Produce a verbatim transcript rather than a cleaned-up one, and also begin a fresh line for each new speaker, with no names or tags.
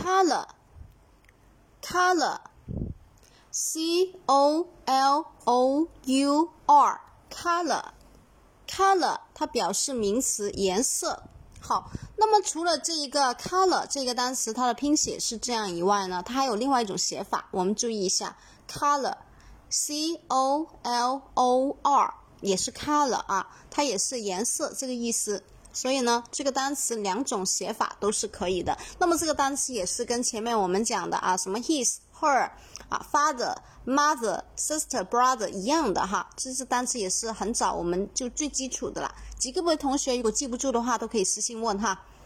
color color C O L O U R color color 它表示名词颜色。好，那么除了这一个 color 这个单词它的拼写是这样以外呢，它还有另外一种写法，我们注意一下 color C O L O R 也是 color 啊，它也是颜色这个意思。所以呢，这个单词两种写法都是可以的。那么这个单词也是跟前面我们讲的啊，什么 his、her 啊 ，father、mother、sister、brother 一样的哈。这些单词也是很早我们就最基础的啦。几个位同学如果记不住的话，都可以私信问哈。